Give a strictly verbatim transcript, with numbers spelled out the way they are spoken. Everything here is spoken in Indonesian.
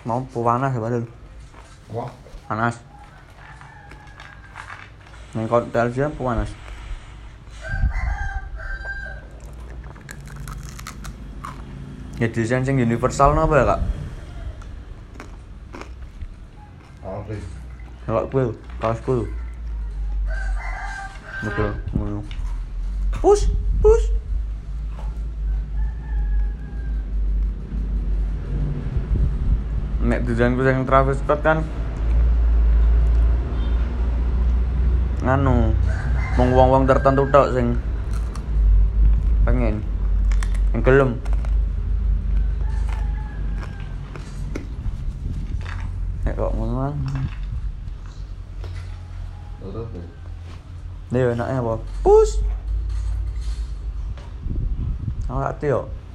Mau panas ya padahal. Wah, Panas. Ning kontel sih panas. Ya desain sing universal napa ya, Kak? Alri. Kalau gue, kaos gue. Betul, ngono. Push, push. Nek desainku sing Travis Scott kan nganu mung wong-wong tertentu tok sing pengen yang gelem. Nek kok ngono. Terus tuh. Dia enaknya apa? Push. Awak yo.